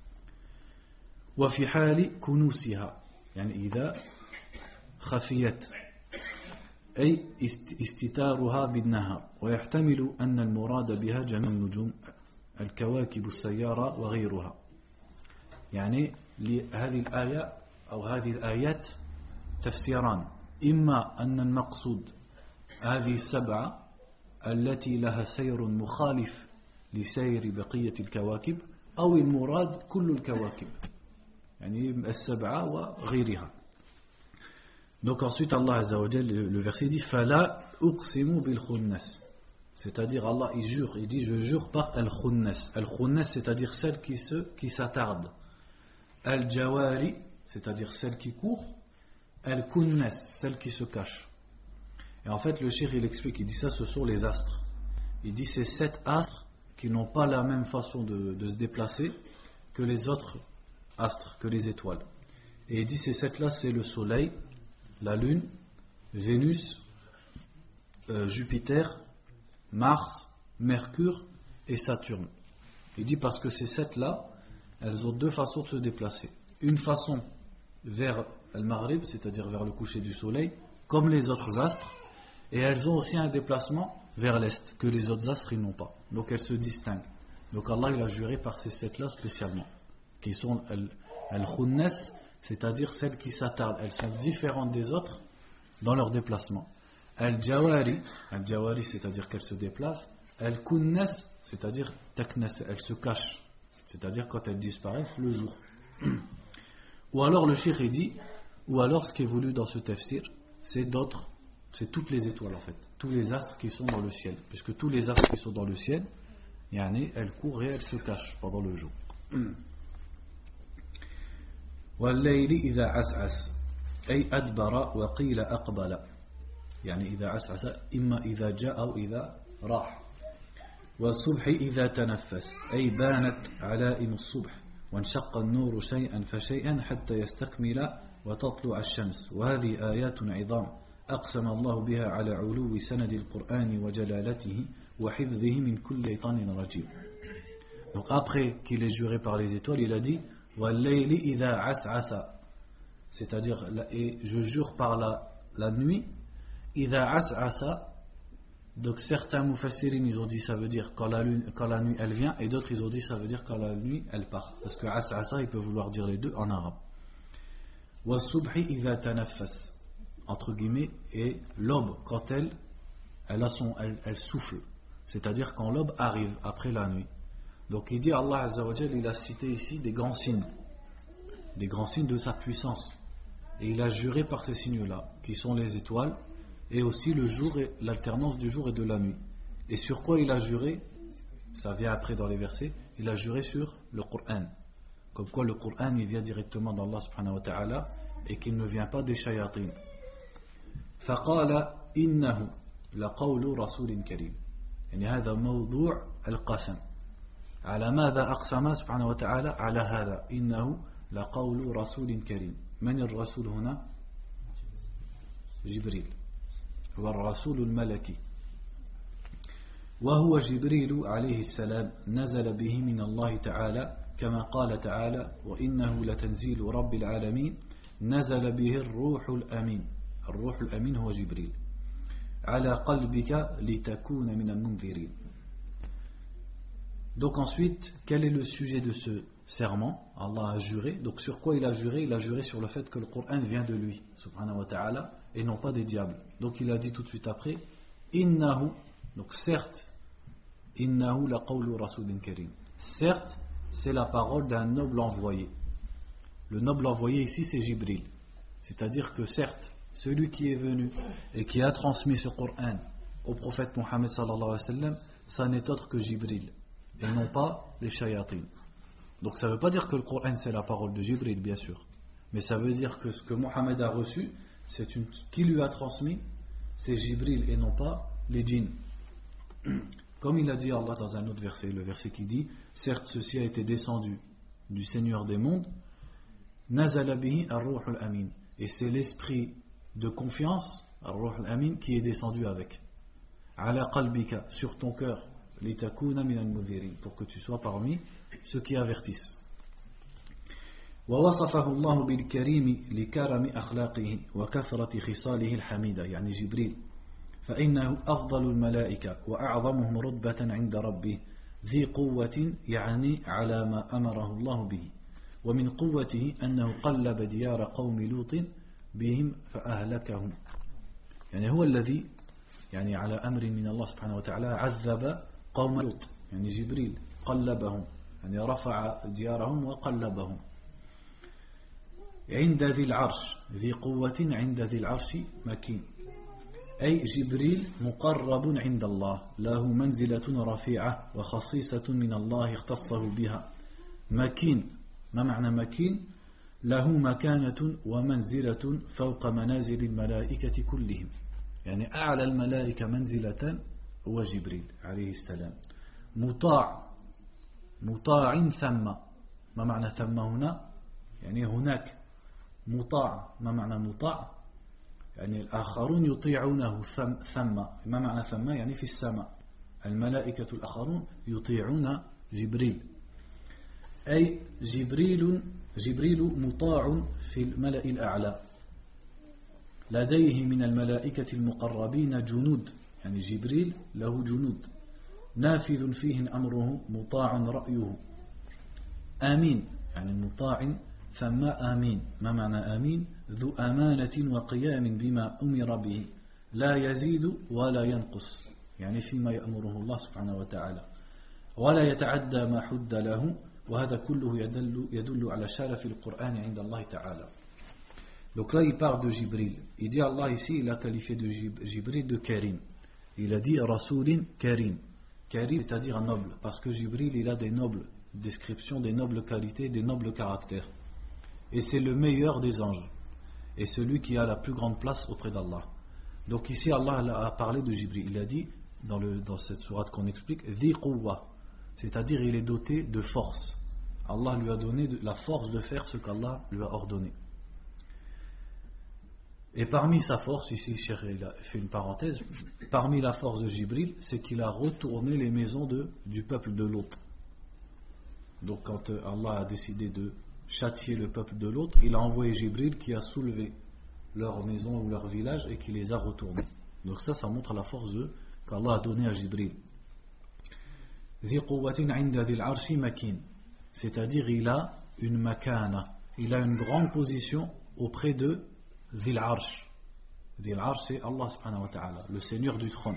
وفي حال كنوسها يعني إذا خفيت أي استتارها بالنهار ويحتمل أن المراد بها جميع النجوم الكواكب السيارة وغيرها يعني لهذه الآية أو هذه الآيات تفسيران إما أن المقصود هذه السبعة التي لها سير مخالف لسير بقية الكواكب أو المراد كل الكواكب يعني السبعة وغيرها. Donc ensuite Allah Azza wa Jalla le verset dit Fala uqsimu bil khunnas, c'est-à-dire Allah il jure, il dit je jure par al-khunnas. Al-khunnas c'est-à-dire celle qui s'attarde. Al-jawari c'est-à-dire celle qui court. Al-kunnas celle qui se cache. Et en fait le cheikh il explique, il dit ça ce sont les astres. Il dit c'est 7 astres qui n'ont pas la même façon de se déplacer que les autres astres, que les étoiles. Et il dit ces 7 là c'est le soleil, la lune, Vénus, Jupiter, Mars, Mercure et Saturne. Il dit parce que ces 7 là, elles ont 2 façons de se déplacer. Une façon vers le Maghrib, c'est-à-dire vers le coucher du soleil, comme les autres astres, et elles ont aussi un déplacement vers l'est, que les autres astres ils n'ont pas. Donc elles se distinguent. Donc Allah il a juré par ces 7 là spécialement, qui sont al-khunnas, c'est-à-dire celles qui s'attardent. Elles sont différentes des autres dans leur déplacement. Al-jawari c'est-à-dire qu'elles se déplacent. Al-kunnas, c'est-à-dire taknas, elles se cachent, c'est-à-dire quand elles disparaissent le jour. Ou alors le cheikh il dit, ou alors ce qui est voulu dans ce tafsir, c'est toutes les étoiles en fait, tous les astres qui sont dans le ciel, puisque tous les astres qui sont dans le ciel, elles courent et elles se cachent pendant le jour. والليل إذا عسعس أي أدبر وقيل أقبل يعني إذا عسعس إما إذا جاء أو إذا راح والصبح إذا تنفس أي بانت علائم الصبح وانشق النور شيئا فشيئا حتى يستكمل وتطلع الشمس وهذه آيات عظام أقسم الله بها على علو سند القرآن وجلالته وحفظه من كل شيطان رجيم. Donc après qu'il est juré par les étoiles, il a dit وَاللَّيْلِ إِذَا عَسْعَسَ, c'est-à-dire et je jure par la nuit. إِذَا عَسْعَسَ, donc certains mufassirin ils ont dit ça veut dire quand la nuit elle vient, et d'autres ils ont dit ça veut dire quand la nuit elle part, parce que عَسْعَسَ il peut vouloir dire les deux en arabe. وَالصُّبْحِ إِذَا تَنَفَّسَ, entre guillemets, et l'aube quand elle souffle, c'est-à-dire quand l'aube arrive après la nuit. Donc il dit Allah Azza wa Jalla, il a cité ici des grands signes de sa puissance, et il a juré par ces signes-là qui sont les étoiles et aussi le jour et l'alternance du jour et de la nuit. Et sur quoi il a juré? Ça vient après dans les versets. Il a juré sur le Coran, comme quoi le Coran il vient directement d'Allah subhanahu wa ta'ala et qu'il ne vient pas des shayatin. فقال إنه لقول رسول كريم, يعني هذا موضوع القسم. على ماذا أقسم سبحانه وتعالى؟ على هذا إنه لقول رسول كريم. من الرسول هنا؟ جبريل, هو الرسول الملكي, وهو جبريل عليه السلام نزل به من الله تعالى كما قال تعالى وإنه لتنزيل رب العالمين نزل به الروح الأمين. الروح الأمين هو جبريل على قلبك لتكون من المنذرين. Donc ensuite, quel est le sujet de ce serment? Allah a juré. Donc sur quoi il a juré? Il a juré sur le fait que le Coran vient de lui, subhanahu wa ta'ala, et non pas des diables. Donc il a dit tout de suite après, innahu, donc certes, innahu la qawlu rasulin karim. Certes, c'est la parole d'un noble envoyé. Le noble envoyé ici, c'est Jibril. C'est-à-dire que certes, celui qui est venu et qui a transmis ce Coran au prophète Mohammed sallallahu alayhi wa sallam, ça n'est autre que Jibril, et non pas les shayatines. Donc ça ne veut pas dire que le Coran c'est la parole de Jibril, bien sûr. Mais ça veut dire que ce que Mohammed a reçu, qui lui a transmis, c'est Jibril et non pas les djinns. Comme il a dit Allah dans un autre verset, le verset qui dit, certes ceci a été descendu du Seigneur des mondes, nazala bihi ar-ruh al-amin, et c'est l'esprit de confiance, ar-ruh al-amin, qui est descendu avec. Ala qalbika, sur ton cœur, litakuna min al-mudhirin, pour que tu sois parmi ceux qui avertissent. ووصفه الله بالكريم لكرم أخلاقه وكثرة خصاله الحميدة يعني جبريل فإنه أفضل الملائكة وأعظمهم رتبة عند ربه ذي قوة يعني على ما أمره الله به ومن قوته أنه قلب ديار قوم لوط بهم فأهلكهم يعني هو الذي يعني على أمر من الله سبحانه وتعالى عذب قوم لوط يعني جبريل قلبهم يعني رفع ديارهم وقلبهم عند ذي العرش ذي قوة عند ذي العرش مكين أي جبريل مقرب عند الله له منزلة رفيعة وخصيصة من الله اختصه بها مكين ما معنى مكين له مكانة ومنزلة فوق منازل الملائكة كلهم يعني أعلى الملائكة منزلة هو جبريل عليه السلام مطاع ثم ما معنى ثم هنا يعني هناك مطاع ما معنى مطاع يعني الآخرون يطيعونه ثم ما معنى ثم يعني في السماء الملائكة الآخرون يطيعون جبريل أي جبريل مطاع في الملأ الأعلى لديه من الملائكة المقربين جنود يعني جبريل له جنود نافذ فيه أمره مطاع رأيه آمين يعني مطاع ثم آمين ما معنى آمين ذو أمانة وقيام بما أمر به لا يزيد ولا ينقص يعني فيما يأمره الله سبحانه وتعالى ولا يتعدى ما حد له وهذا كله يدل على شرف القرآن عند الله تعالى. Donc là il parle de Jibril. Il dit Allah ici il a qualifié de Jibril de Karim. Il a dit Rasoulin Karim. Karim c'est-à-dire noble parce que Jibril il a des nobles descriptions, des nobles qualités, des nobles caractères. Et c'est le meilleur des anges et celui qui a la plus grande place auprès d'Allah. Donc ici Allah a parlé de Jibril. Il a dit dans cette sourate qu'on explique Dhi Quwwa, c'est-à-dire il est doté de force. Allah lui a donné la force de faire ce qu'Allah lui a ordonné. Et parmi sa force, ici Cheikh il a fait une parenthèse, parmi la force de Jibril, c'est qu'il a retourné les maisons du peuple de Lot. Donc quand Allah a décidé de châtier le peuple de Lot, il a envoyé Jibril qui a soulevé leur maison ou leur village et qui les a retournés. Donc ça montre la force qu'Allah a donnée à Jibril. Dhi quwwatin 'inda dhil 'arshi makin, c'est-à-dire il a une makana, il a une grande position auprès de Dhil Arsh. Dhil Arsh c'est Allah subhanahu wa ta'ala, le Seigneur du trône.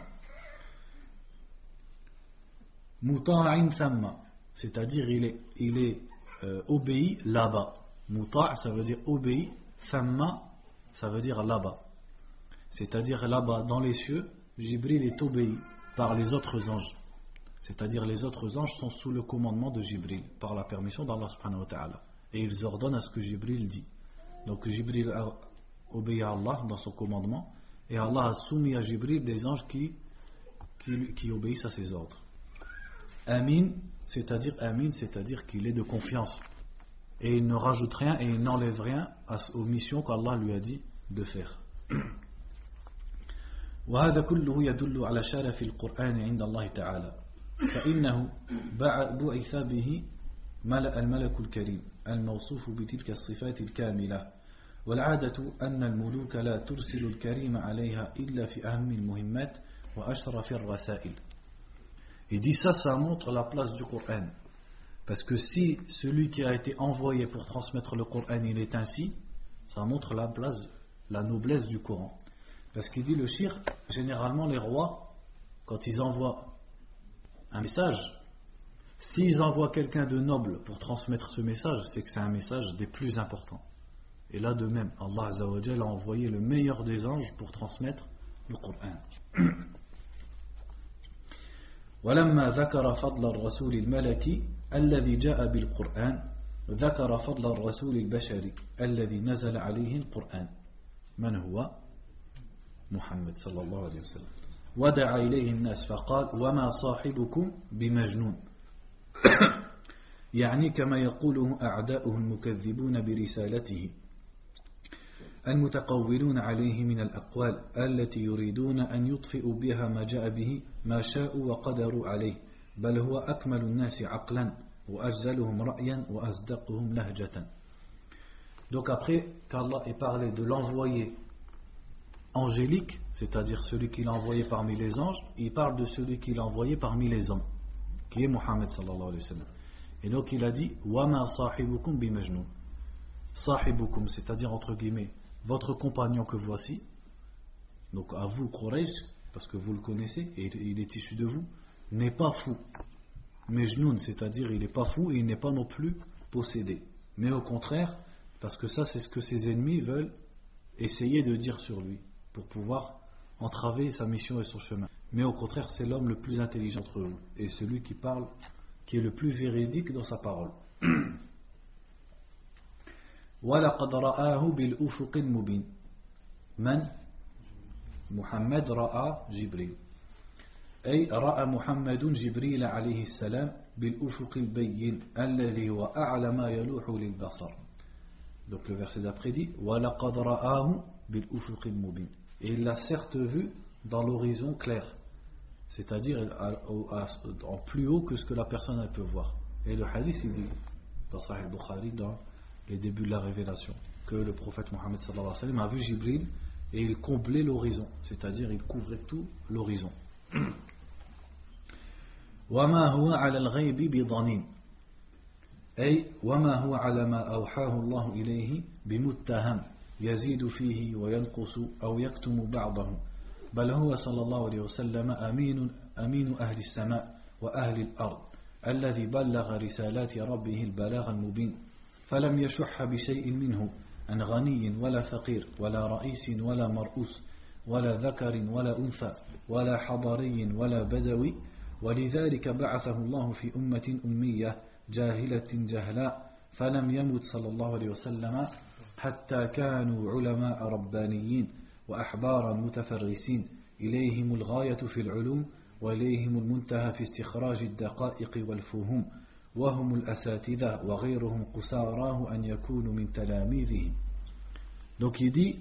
Muta'in thamma, c'est-à-dire il est obéi là-bas. Muta' ça veut dire obéi, thamma ça veut dire là-bas. C'est-à-dire là-bas dans les cieux, Jibril est obéi par les autres anges. C'est-à-dire les autres anges sont sous le commandement de Jibril par la permission d'Allah subhanahu wa ta'ala. Et ils ordonnent à ce que Jibril dit. Donc Jibril a obéi à Allah dans son commandement et Allah a soumis à Jibril des anges qui obéissent à ses ordres. Amin, c'est-à-dire qu'il est de confiance et il ne rajoute rien et il n'enlève rien aux missions qu'Allah lui a dit de faire. وهذا كله يدل على شرف القرآن عند الله تعالى فإنه بعث به الملك الكريم الموصوف بتلك الصفات الكاملة والعادة أن الملوك لا ترسل الكريم عليها إلا في أهم المهمات وأشرف الرسائل. Il dit ça montre la place du Coran. Parce que si celui qui a été envoyé pour transmettre le Coran, il est ainsi, ça montre la place, la noblesse du Coran. Parce qu'il dit le shirk, généralement les rois, quand ils envoient un message, s'ils envoient quelqu'un de noble pour transmettre ce message, c'est que c'est un message des plus importants. Et là de même, Allah Azza wa Jalla a envoyé le meilleur des anges pour transmettre le Coran. ولما ذكر فضل الرسول الملكي الذي جاء بالقرآن ذكر فضل الرسول البشري الذي نزل عليه القرآن من هو؟ محمد صلى الله عليه وسلم ودعا إليه الناس فقال وما صاحبكم بمجنون يعني كما يقوله أعداؤه المكذبون برسالته المتقولون عليه من الأقوال التي يريدون أن يطفئوا بها ما جاء به ما شاءوا وقدروا عليه بل هو أكمل الناس عقلا وأجزلهم رأيا وأصدقهم لهجة. Donc après qu'Allah ait parlé de l'envoyé angélique, c'est-à-dire celui qu'il a envoyé parmi les anges, il parle de celui qu'il a envoyé parmi les hommes, qui est Muhammad sallallahu alayhi wa sallam. Et donc il a dit وَمَا صَاحِبُكُمْ بِمَجْنُونَ. Sahibukum, c'est-à-dire entre guillemets votre compagnon que voici, donc à vous Quraysh, parce que vous le connaissez et il est issu de vous, n'est pas fou. Majnoun, c'est-à-dire il n'est pas fou et il n'est pas non plus possédé. Mais au contraire, parce que ça c'est ce que ses ennemis veulent essayer de dire sur lui, pour pouvoir entraver sa mission et son chemin. Mais au contraire, c'est l'homme le plus intelligent entre vous, et celui qui parle, qui est le plus véridique dans sa parole. وَلَقَدْ رَآهُ بِالْأُفُقِ الْمُبِينِ. من؟ محمد رأى جبريل. أي رأى محمد جبريل عليه السلام بالأفق البين الذي هو أعلى ما يلوح للبصر. Donc le verset d'après dit وَلَقَدْ رَآهُ بِالْأُفُقِ الْمُبِينِ. Et il l'a certes vu dans l'horizon clair, c'est-à-dire en plus haut que ce que la personne elle peut voir. Et le hadith il dit dans Sahih Bukhari, dans les débuts de la révélation, que le prophète Mohammed sallallahu alayhi wa sallam a vu Jibril et il comblait l'horizon, c'est-à-dire il couvrait tout l'horizon. وَمَا هُوَ عَلَى الْغَيْبِ بِضَنِينٍ. أي وما هو على ما أوحاه الله إليه بمتهم يزيد فيه وينقص أو يكتم بعضه بل هو صلى الله عليه وسلم أمين أهل السماء وأهل الأرض الذي بلغ رسالات ربه البلاغ المبين فلم يشح بشيء منه عن غني ولا فقير ولا رئيس ولا مرؤوس ولا ذكر ولا أنثى ولا حضري ولا بدوي ولذلك بعثه الله في أمة أمية جاهلة جهلاء فلم يمت صلى الله عليه وسلم حتى كانوا علماء ربانيين وأحبارا متفرسين إليهم الغاية في العلوم وإليهم المنتهى في استخراج الدقائق والفهوم وهم الأساتذة وغيرهم قساراه أن يكونوا من تلاميذهم. Donc il dit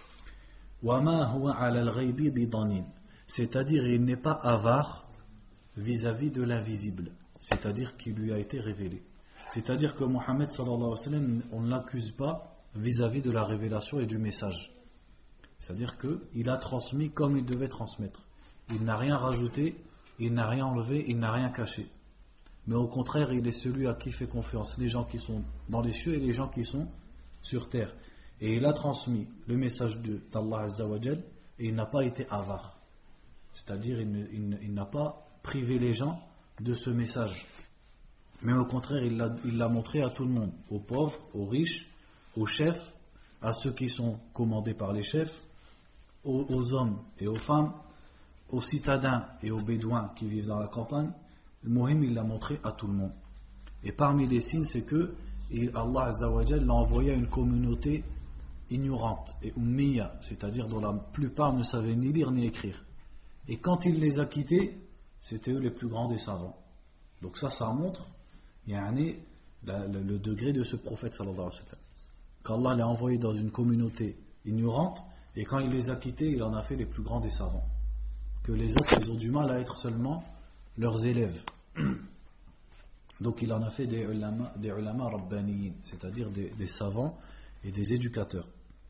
وما هو على الغيب بضنين, c'est-à-dire il n'est pas avare vis-à-vis de l'invisible, c'est-à-dire qui lui a été révélé. C'est-à-dire que Mohammed sallallahu alayhi wa sallam, on ne l'accuse pas vis-à-vis de la révélation et du message. C'est-à-dire qu'il a transmis comme il devait transmettre. Il n'a rien rajouté, il n'a rien enlevé, il n'a rien caché. Mais au contraire, il est celui à qui fait confiance les gens qui sont dans les cieux et les gens qui sont sur terre. Et il a transmis le message d'Allah Azza wa Jal et il n'a pas été avare. C'est-à-dire il n'a pas privé les gens de ce message. Mais au contraire, il l'a montré à tout le monde, aux pauvres, aux riches, aux chefs, à ceux qui sont commandés par les chefs, aux hommes et aux femmes, aux citadins et aux bédouins qui vivent dans la campagne. Le Mohim, il l'a montré à tout le monde. Et parmi les signes, c'est que Allah Azza wa Jal l'a envoyé à une communauté ignorante et ummiya, c'est-à-dire dont la plupart ne savaient ni lire ni écrire. Et quand il les a quittés, c'était eux les plus grands des savants. Donc ça montre le degré de ce prophète sallallahu alayhi wa sallam. Qu'Allah l'a envoyé dans une communauté ignorante, et quand il les a quittés, il en a fait les plus grands des savants. Que les autres, ils ont du mal à être seulement leurs élèves. Donc il en a fait des ulama rabbaniyin, c'est-à-dire des savants et des éducateurs.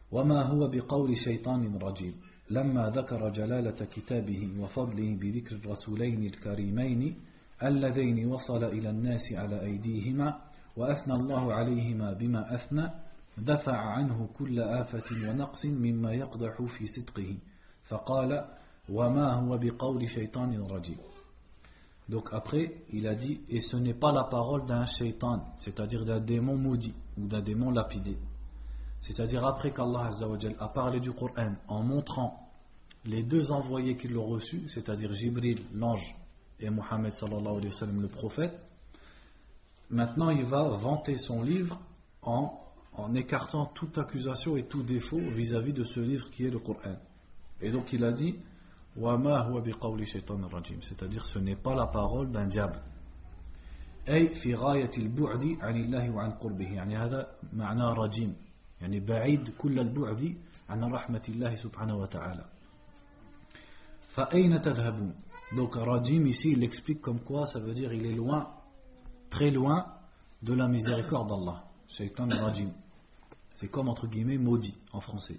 وما هو بقول شيطان رجيم لما ذكر جلالة كتابه وفضله بذكر الرسولين الكريمين اللذين وصل إلى الناس على أيديهما وأثنى الله عليهما بما أثنى دفع عنه كل آفة ونقص مما يقدح في صدقه فقال وما هو بقول شيطان رجيم. Donc après, il a dit, et ce n'est pas la parole d'un shaitan, c'est-à-dire d'un démon maudit ou d'un démon lapidé. C'est-à-dire après qu'Allah Azza wa Jal a parlé du Coran en montrant les deux envoyés qui l'ont reçu, c'est-à-dire Jibril, l'ange, et Mohammed sallallahu alayhi wa sallam, le prophète, maintenant il va vanter son livre en écartant toute accusation et tout défaut vis-à-vis de ce livre qui est le Coran. Et donc il a dit وَمَا هُوَ بِقَوْلِ شَيْطَانٍ رَجِيمٍ, c'est-à-dire ce n'est pas la parole d'un diable. أي في غاية البعد عن الله وعن قربه, يعني هذا معنى رجيم, يعني بعيد كل البعد عن رحمة الله سبحانه وتعالى. فأين تذهبون. Donc rajim ici il explique comme quoi ça veut dire il est loin, très loin de la miséricorde d'Allah. Shaitan rajim, c'est comme entre guillemets maudit en français.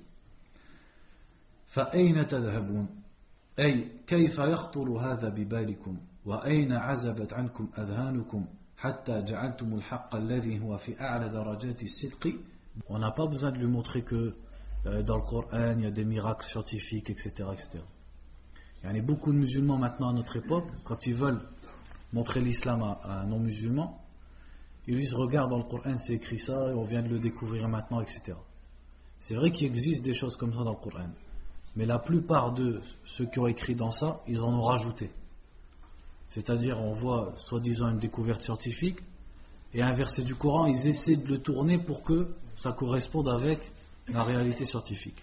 فأين تذهبون أي كيف يخطر هذا ببالكم وأين عزبت عنكم أذهانكم حتى جعلتم الحق الذي هو في أعلى درجات الصدق. On n'a pas besoin de lui montrer que dans le Coran il y a des miracles scientifiques, etc., etc. Il y a beaucoup de musulmans maintenant à notre époque, quand ils veulent montrer l'islam à un non-musulman, ils lui disent regarde dans le Coran c'est écrit ça et on vient de le découvrir maintenant, etc. C'est vrai qu'il existe des choses comme ça dans le Coran, mais la plupart de ceux qui ont écrit dans ça, ils en ont rajouté. C'est-à-dire on voit soi-disant une découverte scientifique et un verset du Coran, ils essaient de le tourner pour que ça corresponde avec la réalité scientifique.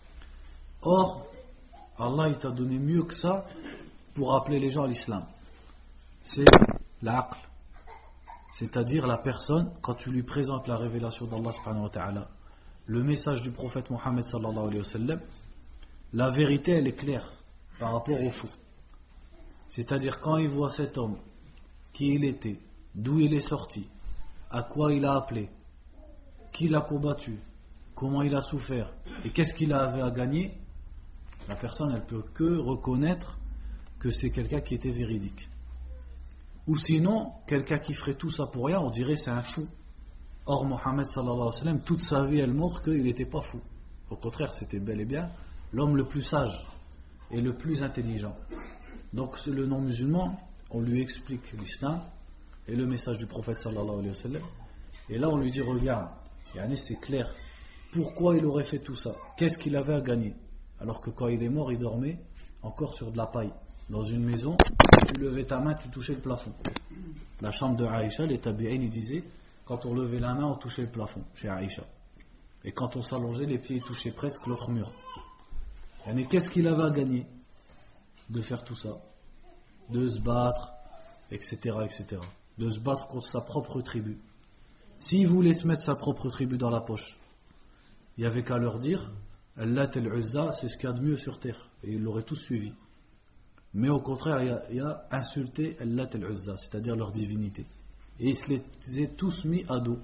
Or, Allah il t'a donné mieux que ça pour appeler les gens à l'islam. C'est l'aql, c'est-à-dire la personne, quand tu lui présentes la révélation d'Allah subhanahu wa ta'ala, le message du prophète Mohammed sallallahu alayhi wa sallam, la vérité elle est claire par rapport au faux. C'est-à-dire quand il voit cet homme, qui il était, d'où il est sorti, à quoi il a appelé, qui l'a combattu, comment il a souffert et qu'est-ce qu'il avait à gagner, la personne elle peut que reconnaître que c'est quelqu'un qui était véridique. Ou sinon, quelqu'un qui ferait tout ça pour rien, on dirait c'est un fou. Or Mohammed sallallahu alayhi wa sallam, toute sa vie elle montre qu'il n'était pas fou. Au contraire, c'était bel et bien l'homme le plus sage et le plus intelligent. Donc le non-musulman, on lui explique l'islam et le message du prophète sallallahu alayhi wa sallam, et là on lui dit regarde, c'est clair, pourquoi il aurait fait tout ça, qu'est-ce qu'il avait à gagner, alors que quand il est mort il dormait encore sur de la paille dans une maison, tu levais ta main, tu touchais le plafond. La chambre de Aïcha, les tabi'in ils disaient quand on levait la main on touchait le plafond chez Aïcha, et quand on s'allongeait les pieds touchaient presque l'autre mur. Qu'est-ce qu'il avait à gagner de faire tout ça, de se battre, etc., etc., de se battre contre sa propre tribu. S'il voulait se mettre sa propre tribu dans la poche, il n'y avait qu'à leur dire Allat al-Uzza, c'est ce qu'il y a de mieux sur terre, et ils l'auraient tous suivi. Mais au contraire, il y a insulté Allat al-Uzza, c'est-à-dire leur divinité, et ils se les ont tous mis à dos.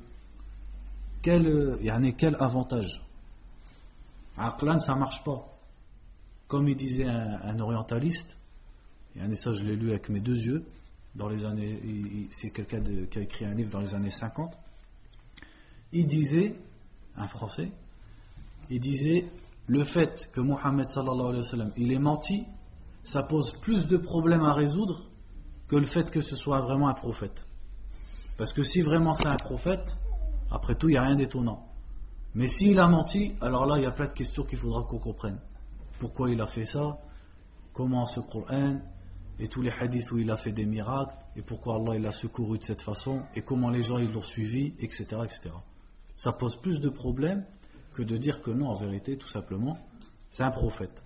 Quel avantage. Aqlan, ça marche pas. Comme il disait un orientaliste, et ça je l'ai lu avec mes deux yeux, dans les années, c'est quelqu'un qui a écrit un livre dans les années 50, il disait, un français, il disait le fait que Mohammed sallallahu alayhi wa sallam il est menti, ça pose plus de problèmes à résoudre que le fait que ce soit vraiment un prophète. Parce que si vraiment c'est un prophète, après tout il n'y a rien d'étonnant. Mais s'il a menti, alors là il y a plein de questions qu'il faudra qu'on comprenne. Pourquoi il a fait ça, comment ce Coran, et tous les hadiths où il a fait des miracles, et pourquoi Allah il a secouru de cette façon, et comment les gens ils l'ont suivi, etc., etc. Ça pose plus de problèmes que de dire que non, en vérité, tout simplement, c'est un prophète.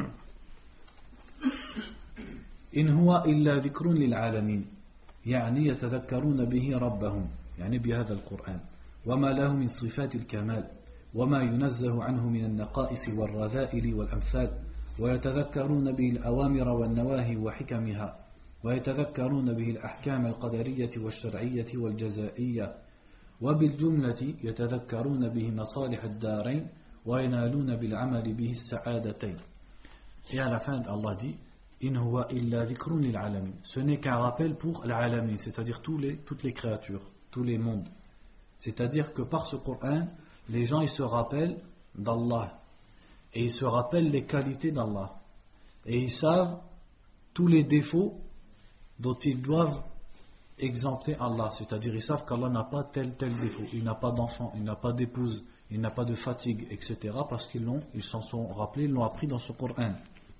إن هو إلا ذكر للعالمين يعني يتذكرون به ربهم يعني بهذا القرآن وما له من صفات الكمال وما ينزه عنه من النقائص والرذائل والأمثال ويتذكرون به الأوامر والنواهي وحكمها ويتذكرون به الأحكام القدرية والشرعية والجزائية وبالجملة يتذكرون به مصالح الدارين وينالون بالعمل به السعادتين. Et à la fin, Allah dit إن هو إلا ذكر للعالمين. Ce n'est qu'un rappel pour l'alamin, c'est-à-dire toutes les créatures, tous les mondes. C'est-à-dire que par ce Coran, les gens ils se rappellent d'Allah et ils se rappellent les qualités d'Allah et ils savent tous les défauts dont ils doivent exempter Allah, c'est-à-dire ils savent qu'Allah n'a pas tel défaut, il n'a pas d'enfant, il n'a pas d'épouse, il n'a pas de fatigue, etc. parce qu'ils s'en sont rappelés, ils l'ont appris dans ce Coran.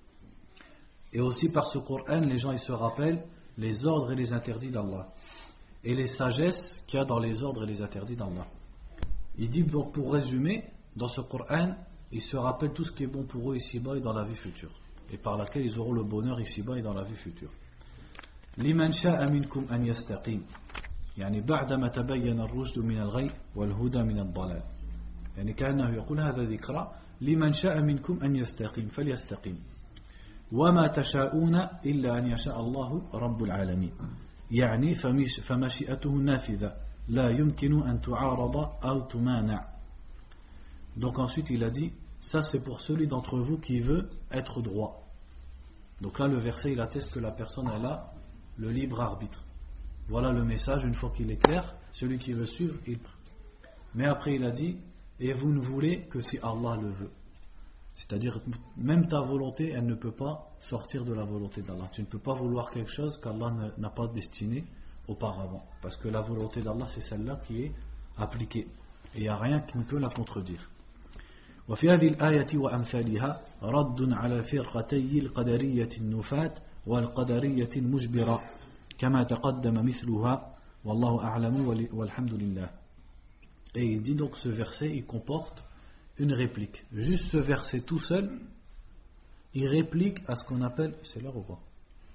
Et aussi par ce Coran, les gens ils se rappellent les ordres et les interdits d'Allah et les sagesses qu'il y a dans les ordres et les interdits d'Allah. Il dit donc, pour résumer, dans ce Coran, ils se rappellent tout ce qui est bon pour eux ici-bas et dans la vie future, et par laquelle ils auront le bonheur ici-bas et dans la vie future. لمن شاء منكم أن يستقيم يعني بعدما تبين الرشد من الغي والهدى من الضلال يعني كأنه يقول هذا ذكرى لمن شاء منكم أن يستقيم فليستقيم وما تشاءون إلا أن يشاء الله رب العالمين يعني فمشيئته نافذة لا يمكن أن تعارض أو تمانع. Donc ensuite il a dit ça c'est pour celui d'entre vous qui veut être droit. Donc là le verset il atteste que la personne elle a le libre arbitre. Voilà le message, une fois qu'il est clair, celui qui veut suivre, il prie. Mais après il a dit, et vous ne voulez que si Allah le veut. C'est-à-dire, même ta volonté, elle ne peut pas sortir de la volonté d'Allah. Tu ne peux pas vouloir quelque chose qu'Allah n'a pas destiné auparavant. Parce que la volonté d'Allah, c'est celle-là qui est appliquée. Et il n'y a rien qui ne peut la contredire. وفي هذه الآية وأمثالها رد على فرقتي القدرية النفاة والقدرية المجبرة كما تقدم مثلها والله أعلم والحمد لله. Et il dit donc ce verset il comporte une réplique. Juste ce verset tout seul il réplique à ce qu'on appelle, c'est l'heure ou pas?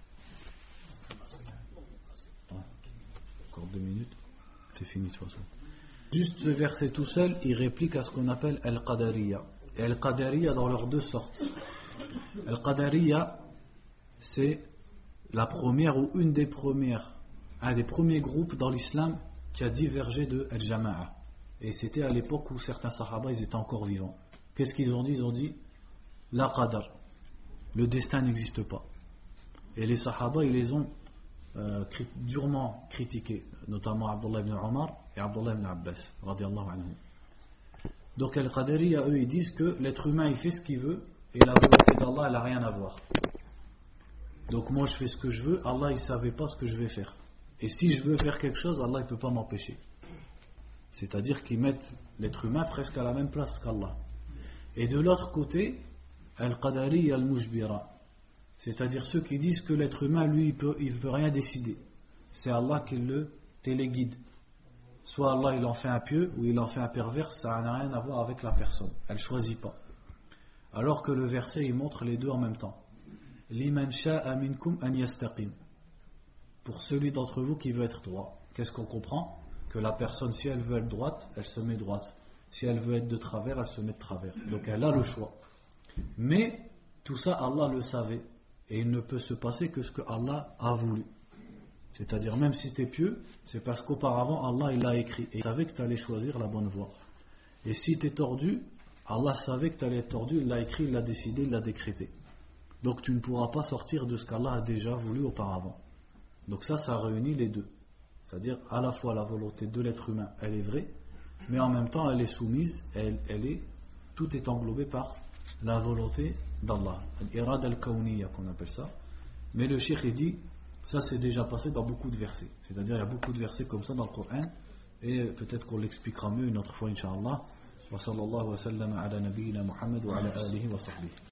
Encore 2 minutes, c'est fini de toute façon. Juste ce verset tout seul, il réplique à ce qu'on appelle Al-Qadariya. Et Al-Qadariya dans leurs 2 sortes. Al-Qadariya, c'est la première ou un des premiers groupes dans l'islam qui a divergé de Al-Jama'a. Et c'était à l'époque où certains sahaba ils étaient encore vivants. Qu'est-ce qu'ils ont dit? Ils ont dit La Qadar, le destin n'existe pas. Et les sahaba ils les ont durement critiqués, notamment Abdullah ibn Omar et Abdullah ibn Abbas radiyallahu anhu. Donc Al-Qadariya eux ils disent que l'être humain il fait ce qu'il veut et la volonté d'Allah elle n'a rien à voir. Donc moi je fais ce que je veux, Allah il savait pas ce que je vais faire. Et si je veux faire quelque chose, Allah il peut pas m'empêcher. C'est-à-dire qu'ils mettent l'être humain presque à la même place qu'Allah. Et de l'autre côté, Al-Qadari al-Mujbira, c'est-à-dire ceux qui disent que l'être humain lui il peut rien décider. C'est Allah qui le téléguide. Soit Allah il en fait un pieux ou il en fait un pervers, ça n'a rien à voir avec la personne. Elle choisit pas. Alors que le verset il montre les deux en même temps. Liman sha'a minkum an yastaqim. Pour celui d'entre vous qui veut être droit. Qu'est-ce qu'on comprend? Que la personne, si elle veut être droite, elle se met droite. Si elle veut être de travers, elle se met de travers. Donc elle a le choix. Mais tout ça, Allah le savait. Et il ne peut se passer que ce que Allah a voulu. C'est-à-dire même si tu es pieux, c'est parce qu'auparavant Allah il l'a écrit. Et il savait que tu allais choisir la bonne voie. Et si tu es tordu, Allah savait que tu allais être tordu, il l'a écrit, il l'a décidé, il l'a décrété. Donc tu ne pourras pas sortir de ce qu'Allah a déjà voulu auparavant. Donc ça réunit les deux. C'est-à-dire à la fois la volonté de l'être humain, elle est vraie, mais en même temps elle est soumise, tout est englobé par la volonté d'Allah. Al-irad al-kawniyya qu'on appelle ça. Mais le cheikh il dit, ça c'est déjà passé dans beaucoup de versets. C'est-à-dire il y a beaucoup de versets comme ça dans le Coran, et peut-être qu'on l'expliquera mieux une autre fois, Inch'Allah. Wa sallallahu wa sallam ala nabiyyina Muhammad wa ala alihi wa sahbihi.